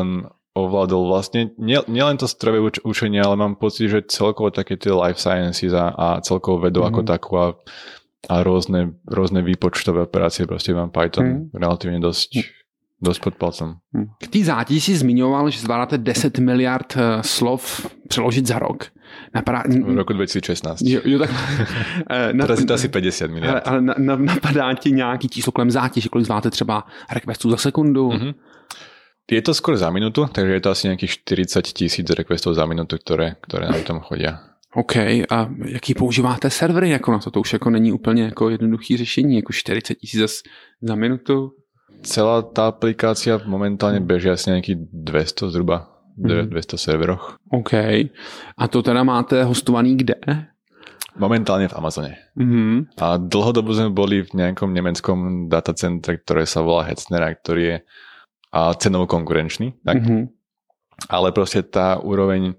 ovládol vlastne nielen to strojové učenie, ale mám pocit, že celkovo také tie life sciences a celkovo vedu ako takú a rôzne výpočtové operácie proste mám Python relatívne dosť pod palcem. K té zátěži si zmiňoval, že zvládáte 10 miliard slov přeložit za rok. V roku 2016. Jo, tak. Teraz je to asi 50 miliard. Ale napadá ti nějaký číslo kolem zátěže, kolik zvládáte třeba requestů za sekundu? Je to skôr za minútu, takže je to asi nejakých 40 000 requestov za minútu, ktoré nám tam chodia. OK, a jaký používáte servery jako na to? To už jako není úplně jako jednoduchý řešení, jako 40 000 za minutu? Celá tá aplikácia momentálne beží asi nejakých 200 zhruba, 200 serveroch. OK, a to teda máte hostovaný kde? Momentálne v Amazone. A dlhodobo sme boli v nejakom nemeckom datacentre, ktoré sa volá Hetzner, ktorý je cenovo konkurenčný. Tak? Ale proste tá úroveň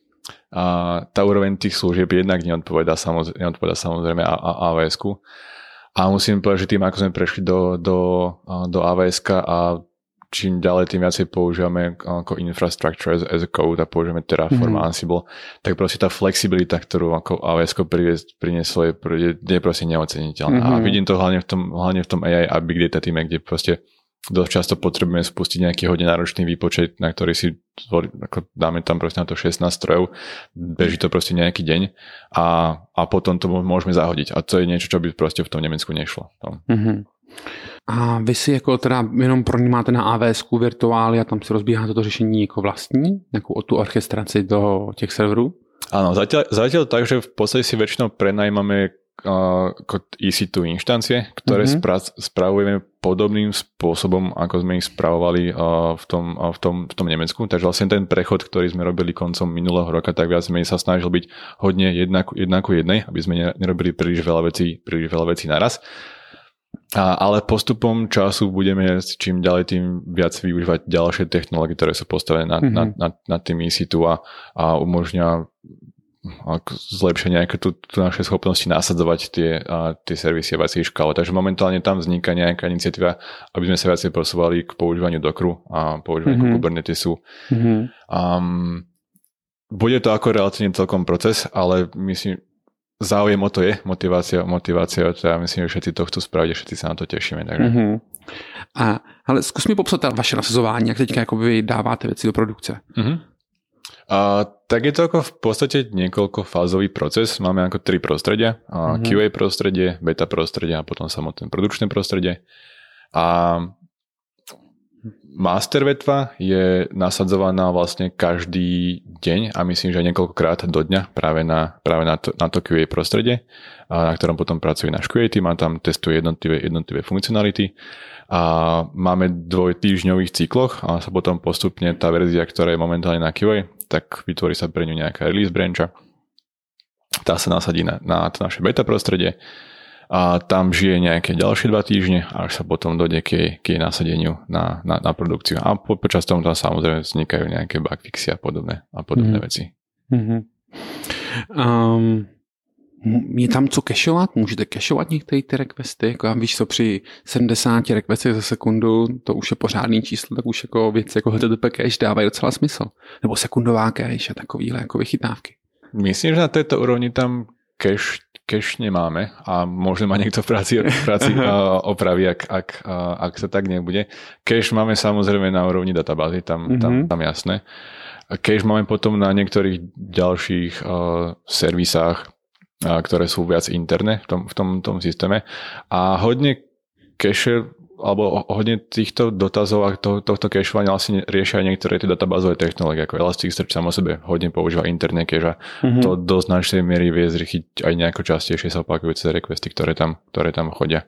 tých služieb jednak neodpovedá samozrejme AWS-ku. A musím povedať, že tým, ako sme prešli do AWS-ka a čím ďalej, tým viacej používame ako infrastructure as a code a používame Terraform a Ansible, tak proste tá flexibilita, ktorú ako AWS-ko prinieslo, je proste neoceniteľná. A vidím to hlavne v tom AI a Big Data týme, kde proste dosť často potrebujeme spustiť nejaký hodne náročný výpočet, na ktorý si dáme tam proste na to 16 strojov, beží to proste nejaký deň a potom to môžeme zahodiť. A to je niečo, čo by proste v tom Nemecku nešlo. A vy si jako teda jenom pronímáte na AWS-ku virtuály a tam si rozbíháte to řešení jako vlastní, nejakú tu orchestraci do těch serverů? Áno, zatiaľ tak, že v podstate si väčšinou prenajímame EC2 inštancie, ktoré spravujeme podobným spôsobom, ako sme ich spravovali v tom Nemecku. Takže vlastne ten prechod, ktorý sme robili koncom minulého roka, tak viac menej sa snažil byť hodne jedna ku jednej, aby sme nerobili príliš veľa vecí naraz. Ale postupom času budeme čím ďalej tým viac využívať ďalšie technológie, ktoré sú postavené na tým EC2 a umožňujú zlepšia nejaké tu naše schopnosti nasadzovať tie servisy a viacej škále. Takže momentálne tam vzniká nejaká iniciatíva, aby sme sa viacej posúvali k používaniu Dockeru a používaniu Kubernetesu. Bude to ako relatívne celkom proces, ale myslím, záujem o to je, motivácia o to, ja myslím, že všetci to chcú spraviť a všetci sa na to tešíme. Takže. Ale zkus mi popsat vaše nasazování, jak teďka vy dáváte věci do produkce. Tak je to ako v podstate niekoľkofázový proces. Máme ako 3 prostredia. QA prostredie, beta prostredie a potom samotné produkčné prostredie. A master vetva je nasadzovaná vlastne každý deň a myslím, že niekoľkokrát do dňa práve na to QA prostredie, na ktorom potom pracuje náš QA team a tam testuje jednotlivé funkcionality. A máme 2-týždňových cykloch a sa potom postupne tá verzia, ktorá je momentálne na QA, tak vytvorí sa pre ňu nejaká release brancha. Tá sa nasadí na to naše beta prostredie a tam žije nejaké ďalšie 2 týždne, až sa potom dojde k jej nasadeniu na produkciu. A počas toho tam samozrejme vznikajú nejaké bugfixy a podobné veci. Je tam co cashovat? Můžete cashovat některé ty requesty? Jako já víš co, při 70 requestech za sekundu, to už je pořádný číslo, tak už jako věci jako HTTP cache dávají docela smysl. Nebo sekundová cache a takovýhle jako vychytávky. Myslím, že na této úrovni tam cache nemáme a možno ma niekto v práci opraví, ak sa tak nebude. Cache máme samozrejme na úrovni databázy, tam jasné. Cache máme potom na niektorých ďalších servisách, ktoré sú viac interné v tom systéme. A hodne cache, alebo hodne týchto dotazov a tohto cachovania vlastne riešia niektoré tie databázové technológie, ako Elasticsearch samo sebe hodne používa interné cache a to do značnej miery vie zrýchliť aj nejako častejšie sa opakujúce requesty, ktoré tam chodia.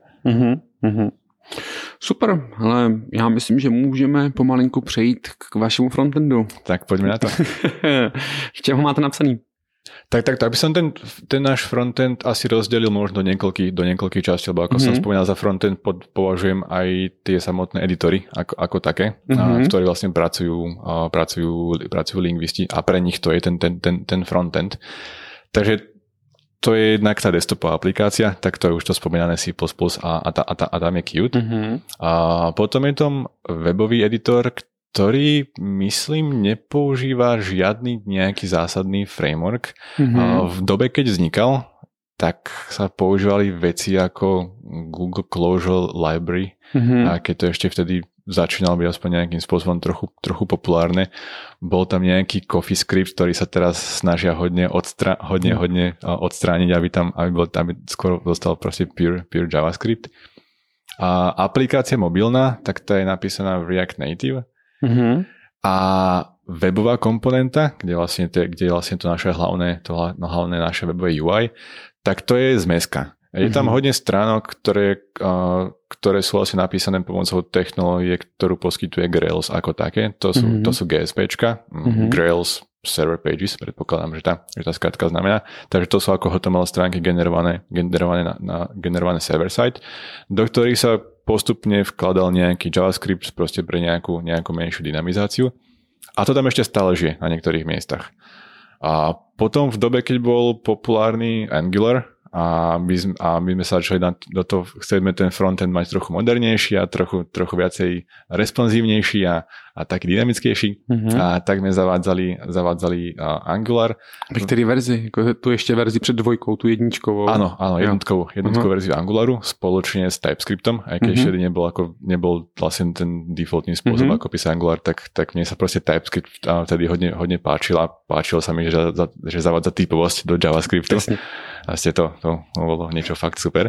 Super, ale já myslím, že můžeme pomalinku přejít k vašemu frontendu. Tak poďme na to. V čem ho máte napsaný? Tak by som ten náš frontend asi rozdelil možno do niekoľkých častí, lebo ako som spomínal, za frontend považujem aj tie samotné editory ako také, v ktorých vlastne pracujú lingvisti a pre nich to je ten frontend. Takže to je jednak tá desktopová aplikácia, tak to je už to spomínané C++ a tam je Qt. A potom je tam webový editor, ktorý, myslím, nepoužíva žiadny nejaký zásadný framework. V dobe, keď vznikal, tak sa používali veci ako Google Closure Library, a keď to ešte vtedy začínalo byť aspoň nejakým spôsobom trochu populárne. Bol tam nejaký CoffeeScript, ktorý sa teraz snažia hodne odstrániť, aby skoro dostal proste pure JavaScript. A aplikácia mobilná, tak tá je napísaná v React Native. A webová komponenta, kde je vlastne to naše hlavné naše webové UI, tak to je zmeska. Je tam hodne stránok, ktoré sú vlastne napísané pomocou technológie, ktorú poskytuje Grails ako také. To sú GSPčka, Grails Server Pages, predpokladám, že tá skratka znamená. Takže to sú ako HTML stránky generované server-side, do ktorých sa postupne vkladal nejaký JavaScript proste pre nejakú menšiu dynamizáciu. A to tam ešte stále žije na niektorých miestach. A potom v dobe, keď bol populárny Angular, a my sme sa začali do toho, chceme ten frontend mať trochu modernejší a trochu viacej responsívnejší a taký dynamickejší. A tak sme zavádzali Angular. Ve který verzi? Tu ještě verzi před dvojkou, tu jedničkovou. Áno, jednotkovú verziu Angularu spoločne s TypeScriptom, aj keď ešte nebol vlastne ten defaultný spôsob, ako písať Angular, tak mne sa proste TypeScript vtedy hodne páčilo sa mi, že zavádza typovosť do JavaScriptu. Vlastne to bolo niečo fakt super.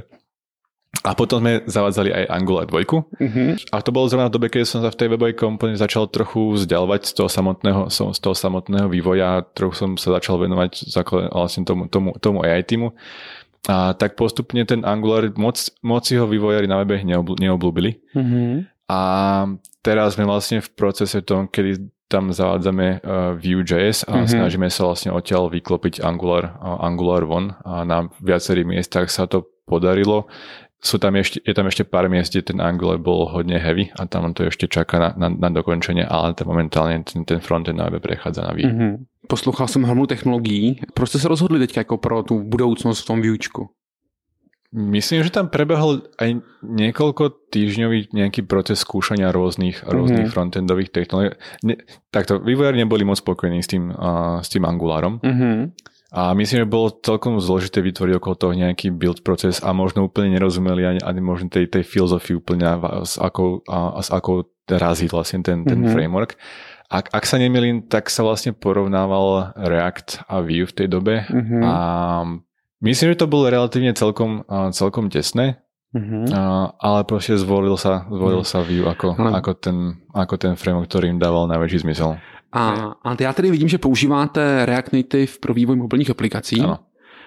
A potom sme zavádzali aj Angular 2. A to bolo zrovna v dobe, keď som sa v tej webovej komponente začal trochu vzdialovať z toho samotného vývoja. Trochu som sa začal venovať vlastne tomu AI týmu. A tak postupne ten Angular moc ho vývojári na webe neobľúbili. A teraz sme vlastne v procese tom, kedy tam zavádzame Vue.js a snažíme sa vlastne odtiaľ vyklopiť Angular von a na viacerých miestach sa to podarilo. Je tam ešte pár miest, kde ten Angular bol hodne heavy a tam to ešte čaká na dokončenie, ale momentálne ten frontend na webe prechádza na Vue. Poslouchal jsem hromadu technologií. Proč jste se rozhodli teď jako pro tu budoucnosť v tom Vuečku? Myslím, že tam prebehol aj niekoľko týždňový nejaký proces skúšania rôznych frontendových technológií. Takto, vývojári neboli moc spokojní s tým Angularom. A myslím, že bolo celkom zložité vytvoriť okolo toho nejaký build proces a možno úplne nerozumeli ani možno tej filozofii úplne s akou razí vlastne ten framework. Ak sa nemýlim, tak sa vlastne porovnával React a Vue v tej dobe a myslím, že to bolo relatívne celkom tesné, ale proste zvolil sa Vue ako ten framework, ktorý im dával najväčší zmysel. A já tedy vidím, že používáte React Native pro vývoj mobilních aplikací. Ano.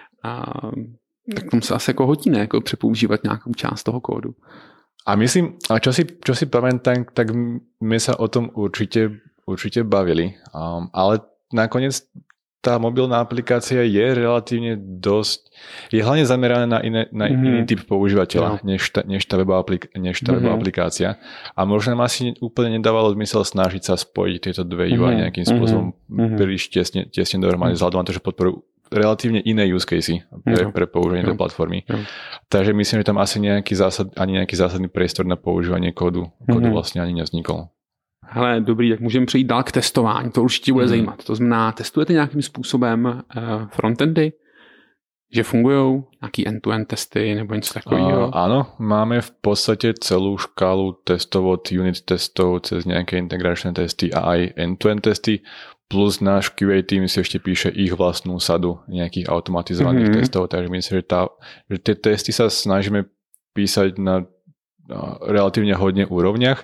Tak tomu se asi jako hodí, ne? Jako přepoužívat nějakou část toho kódu. A myslím, čo si pamätám, tak my sa o tom určite bavili, ale nakoniec tá mobilná aplikácia je relatívne je hlavne zameraná na iný typ používateľa, než tá webová aplikácia. A možno nám asi úplne nedávalo zmysel snažiť sa spojiť tieto dve UI nejakým spôsobom príliš tesne dohromady, vzhľadom na to, že podporujú relatívne iné use casey pre používanie tej platformy. Takže myslím, že tam asi nejaký zásadný priestor na používanie kódu vlastne ani nevznikol. Hele, dobrý, tak můžeme přejít dál k testování, to určitě bude zajímat. To znamená, testujete nějakým způsobem frontendy, že fungujou nějaký end-to-end testy nebo něco takového? Áno, máme v podstate celú škálu testov od unit testov cez nejaké integračné testy a aj end-to-end testy, plus náš QA tým si ešte píše ich vlastnú sadu nejakých automatizovaných testov, takže myslím, že tie testy sa snažíme písať na relatívne hodne úrovniach.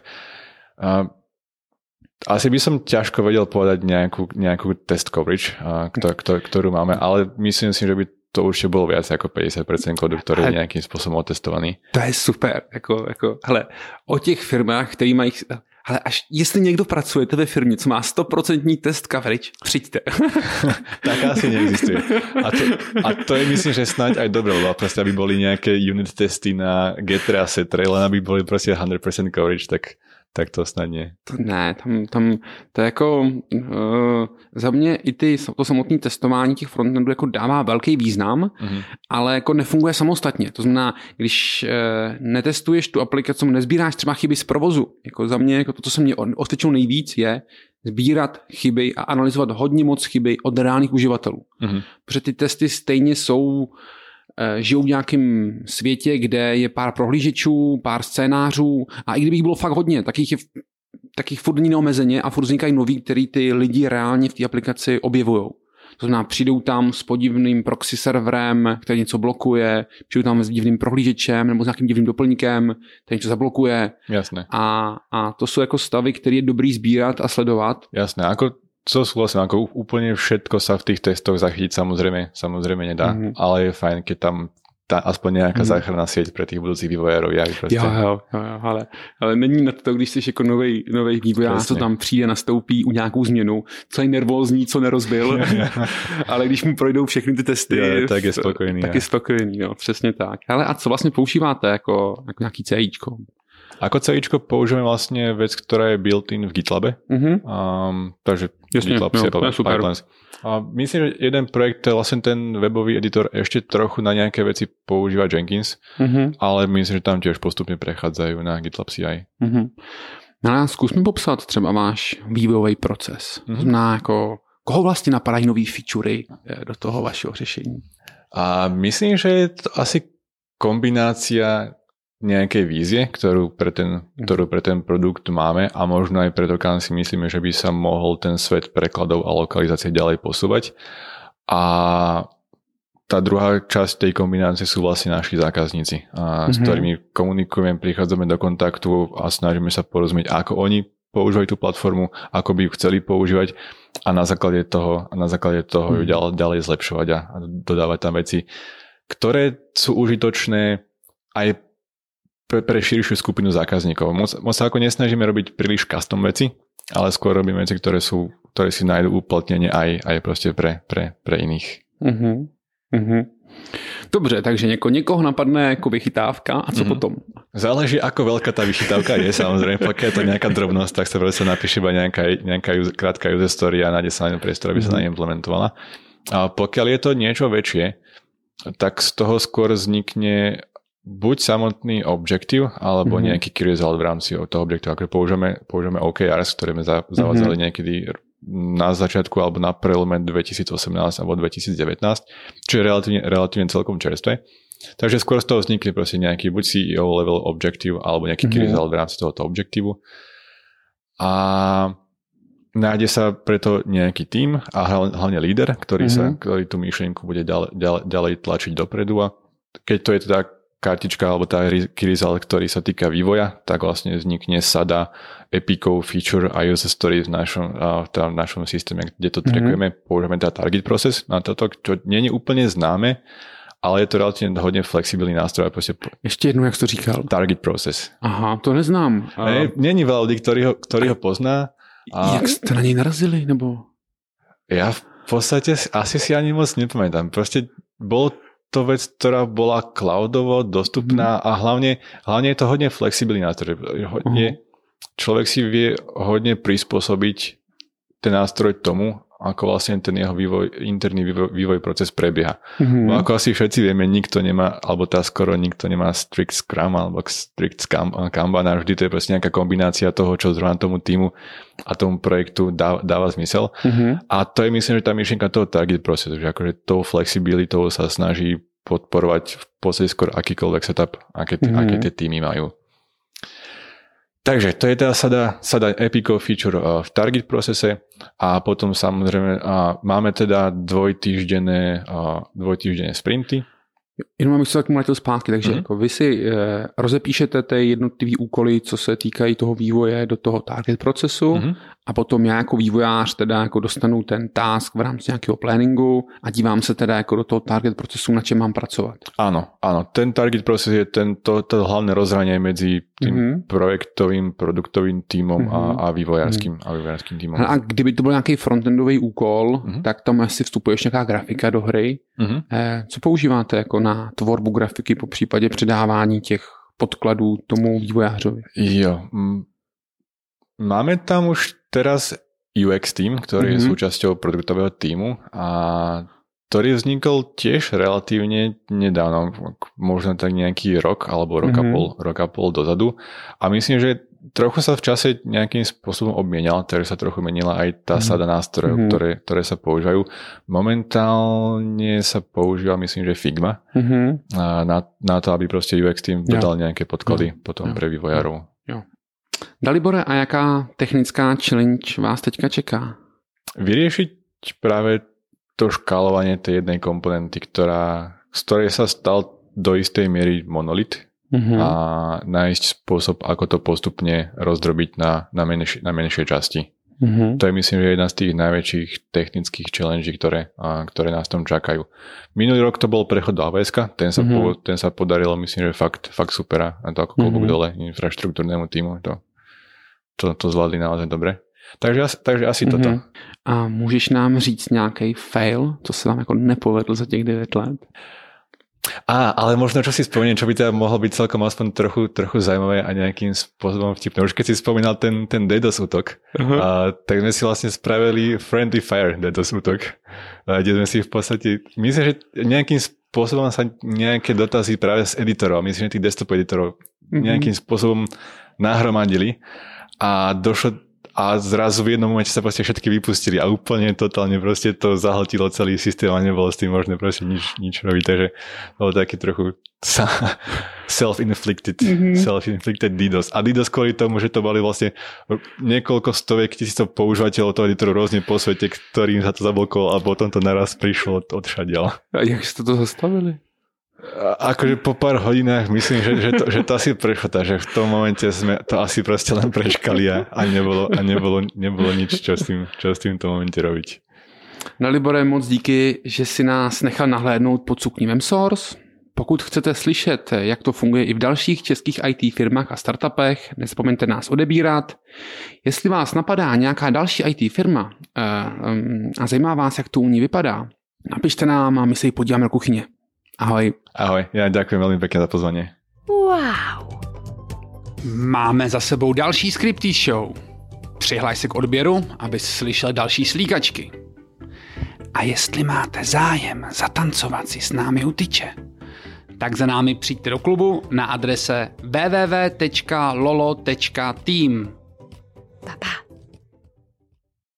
Asi by som ťažko vedel povedať nejakú test coverage, ktorú máme, ale myslím si, že by to určite bolo viac ako 50% kódu, ktorý je nejakým spôsobom otestovaný. To je super. Hele, o těch firmách, který mají... Hele, až jestli někdo pracujete ve firmě, co má 100% test coverage, přijďte. Tak asi neexistuje. A to je, myslím, že snáď aj dobré, lebo proste, aby boli nejaké unit testy na Getter a Setter, len aby boli proste 100% coverage, tak tak to snad nie. Ne, tam to je jako za mě i to samotné testování těch frontendů jako dává velký význam, ale jako nefunguje samostatně. To znamená, když netestuješ tu aplikaci, nezbíráš třeba chyby z provozu. Jako za mě jako to, co se mě osvědčilo nejvíc, je sbírat chyby a analyzovat hodně moc chyby od reálných uživatelů. Protože ty testy stejně žijou v nějakém světě, kde je pár prohlížečů, pár scénářů a i kdyby jich bylo fakt hodně, tak jich furt není neomezeně a furt vznikají noví, který ty lidi reálně v té aplikaci objevujou. To znamená, přijdou tam s podivným proxy serverem, který něco blokuje, přijdou tam s divným prohlížečem nebo s nějakým divným doplňkem, který něco zablokuje. Jasné. A to jsou jako stavy, které je dobrý sbírat a sledovat. Jasné, ako úplne všetko sa v tých testoch zachytiť samozrejme nedá, ale je fajn, keď tam aspoň nejaká záchranná sieť pre tých budúcich vývojárov. Jo, ale není na to, když jsi jako novej vývojář, co tam přijde, nastoupí u nějakou změnu, co je nervózní, co nerozbil, ale když mu projdou všechny ty testy, tak je spokojený. Tak je spokojený, no, přesně tak. Ale a co vlastně používáte jako nějaký CIčko? Ako CIčko používame vlastne vec, ktorá je built-in v GitLabe. Takže jasne, GitLab pipelines. A myslím, že jeden projekt, to je vlastne ten webový editor, ešte trochu na nejaké veci používa Jenkins, ale myslím, že tam tiež postupne prechádzajú na GitLab CI. No a zkus mi popsat třeba váš vývojový proces. To znamená, jako, koho vlastně napadají nový featurey do toho vašeho řešení? A myslím, že je to asi kombinácia nejakej vízie, ktorú pre ten produkt máme a možno aj preto, kam si myslíme, že by sa mohol ten svet prekladov a lokalizácie ďalej posúvať. A tá druhá časť tej kombinácie sú vlastne naši zákazníci, s ktorými komunikujeme, prichádzame do kontaktu a snažíme sa porozumieť, ako oni používajú tú platformu, ako by ju chceli používať a na základe toho ju ďalej zlepšovať a dodávať tam veci, ktoré sú užitočné aj pre širšiu skupinu zákazníkov. Moc sa ako nesnažíme robiť príliš custom veci, ale skôr robíme veci, ktoré si nájdú uplatnenie aj proste pre iných. Dobře, takže někoho napadne jako vychytávka a co potom? Záleží, ako veľká tá vychytávka je, samozrejme. Pokiaľ je to nejaká drobnosť, tak sa proste napíše iba nejaká krátka user story a nájde sa na ňom priestor, aby sa na ňom implementovala. A pokiaľ je to niečo väčšie, tak z toho skôr vznikne buď samotný objektív, alebo nejaký key result v rámci toho objektívu. Ako používame OKRs, ktoré sme zavádzali niekedy na začiatku alebo na prelome 2018 alebo 2019, čo je relatívne celkom čerstvé. Takže skôr z toho vznikne proste nejaký buď CEO level objektív alebo nejaký key result v rámci tohoto objektívu. A nájde sa preto nejaký tím a hlavne líder, ktorý tú myšlienku bude ďalej tlačiť dopredu. A keď to je teda kartička alebo tá key result, ktorý sa týka vývoja, tak vlastne vznikne sada epikov, feature a user stories v našom systéme, kde to trackujeme, používame teda target process na toto, čo nie je úplne známe, ale je to relatívne hodne flexibilný nástroj. Ještě jednou, jak jsi to říkal? Target process. Aha, to neznám. Není veľa ľudí, ktorí ho pozná. Jak ste na něj narazili? Nebo? Ja v podstate asi si ani moc nepamätám. Proste bolo to vec, ktorá bola cloudovo dostupná a hlavne je to hodne flexibilný nástroj. Človek si vie hodne prispôsobiť ten nástroj tomu, ako vlastne ten jeho interný vývoj proces prebieha. Ako asi všetci vieme, nikto nemá, alebo skoro nikto nemá strict Scrum alebo strict Kanban a vždy to je proste nejaká kombinácia toho, čo zrovna tomu týmu a tomu projektu dáva zmysel. A to je, myslím, že tá myšlienka toho target procesu, že akože tou flexibilitou sa snaží podporovať v podstate skôr akýkoľvek setup, aké tie týmy majú. Takže to je teda sada epikov feature v target procese a potom samozrejme máme teda dvojtýždenné sprinty. Jenom abych se tak mlátil zpátky, takže jako vy si rozepíšete ty jednotlivý úkoly, co se týkají toho vývoje do toho target procesu a potom já jako vývojář teda jako dostanu ten task v rámci nějakého planningu a dívám se teda jako do toho target procesu, na čem mám pracovat. Áno, ten target proces je to hlavné rozhranie medzi tým projektovým, produktovým týmom a vývojárským týmom. A kdyby to byl nějaký frontendový úkol, tak tam asi vstupuje nějaká grafika do hry. Co používáte jako na tvorbu grafiky po případě předávání těch podkladů tomu vývojářovi? Jo, Máme tam už teraz UX tým, ktorý je súčasťou produktového tímu a ktorý vznikol tiež relatívne nedávno, možno tak nejaký rok alebo rok a pol dozadu. A myslím, že trochu sa v čase nejakým spôsobom obmienal, takže sa trochu menila aj tá sada nástrojov, ktoré sa používajú. Momentálne sa používa, myslím, že Figma na to, aby proste UX tým dodal nejaké podklady potom pre vývojárov. Dalibore, a jaká technická challenge vás teďka čeká? Vyriešiť práve to škálovanie tej jednej komponenty, z ktorej sa stal do istej miery monolit a nájsť spôsob, ako to postupne rozdrobiť na menšie časti. To je, myslím, že jedna z tých najväčších technických challenge, ktoré nás tam čakajú. Minulý rok to bol prechod do AWS-ka, ten sa podarilo, myslím, že fakt super, a to ako klobúk dole infraštruktúrnemu týmu, to zvládli naozaj dobre. Takže asi toto. A můžeš nám říct nějaký fail, co se vám jako nepovedl za těch 9 let? Ale možno, čo si spomeniem, čo by teda mohlo byť celkom aspoň trochu zaujímavé a nejakým spôsobom vtipné. Už keď si spomínal ten DDoS útok, tak sme si vlastne spravili Friendly Fire DDoS útok, kde sme si v podstate, myslím, že nejakým spôsobom sa nejaké dotazy práve z editorov, myslím, že tých desktop editorov nejakým spôsobom nahromadili a zrazu v jednom momente sa proste všetky vypustili a úplne totálne proste to zahltilo celý systém a nebolo s tým možné proste nič robiť, takže bolo taký trochu self-inflicted DDoS. A DDoS kvôli tomu, že to boli vlastne niekoľko stoviek tisícov používateľov toho editoru rôzne po svete, ktorým sa to zablokovalo a potom to naraz prišlo odšadiaľ. A jak ste to zastavili? Akože po pár hodinách myslím, že to asi prešlo, takže v tom momente sme to asi proste len prečkali a nebolo nič, čo s tým v tom momente robiť. Dalibore, moc díky, že si nás nechal nahlédnout pod suknívem Source. Pokud chcete slyšet, jak to funguje i v dalších českých IT firmách a startupech, nezapomeňte nás odebírat. Jestli vás napadá nějaká další IT firma a zajímá vás, jak to u ní vypadá, napište nám a my se ji podíváme do kuchyně. Ahoj. Ahoj, ja ďakujem veľmi pekne za pozvanie. Wow. Máme za sebou další Scripty Show. Přihlaš se k odběru, abys slyšel další slíkačky. A jestli máte zájem zatancovat si s námi u tyče, tak za námi přijďte do klubu na adrese www.lolo.team.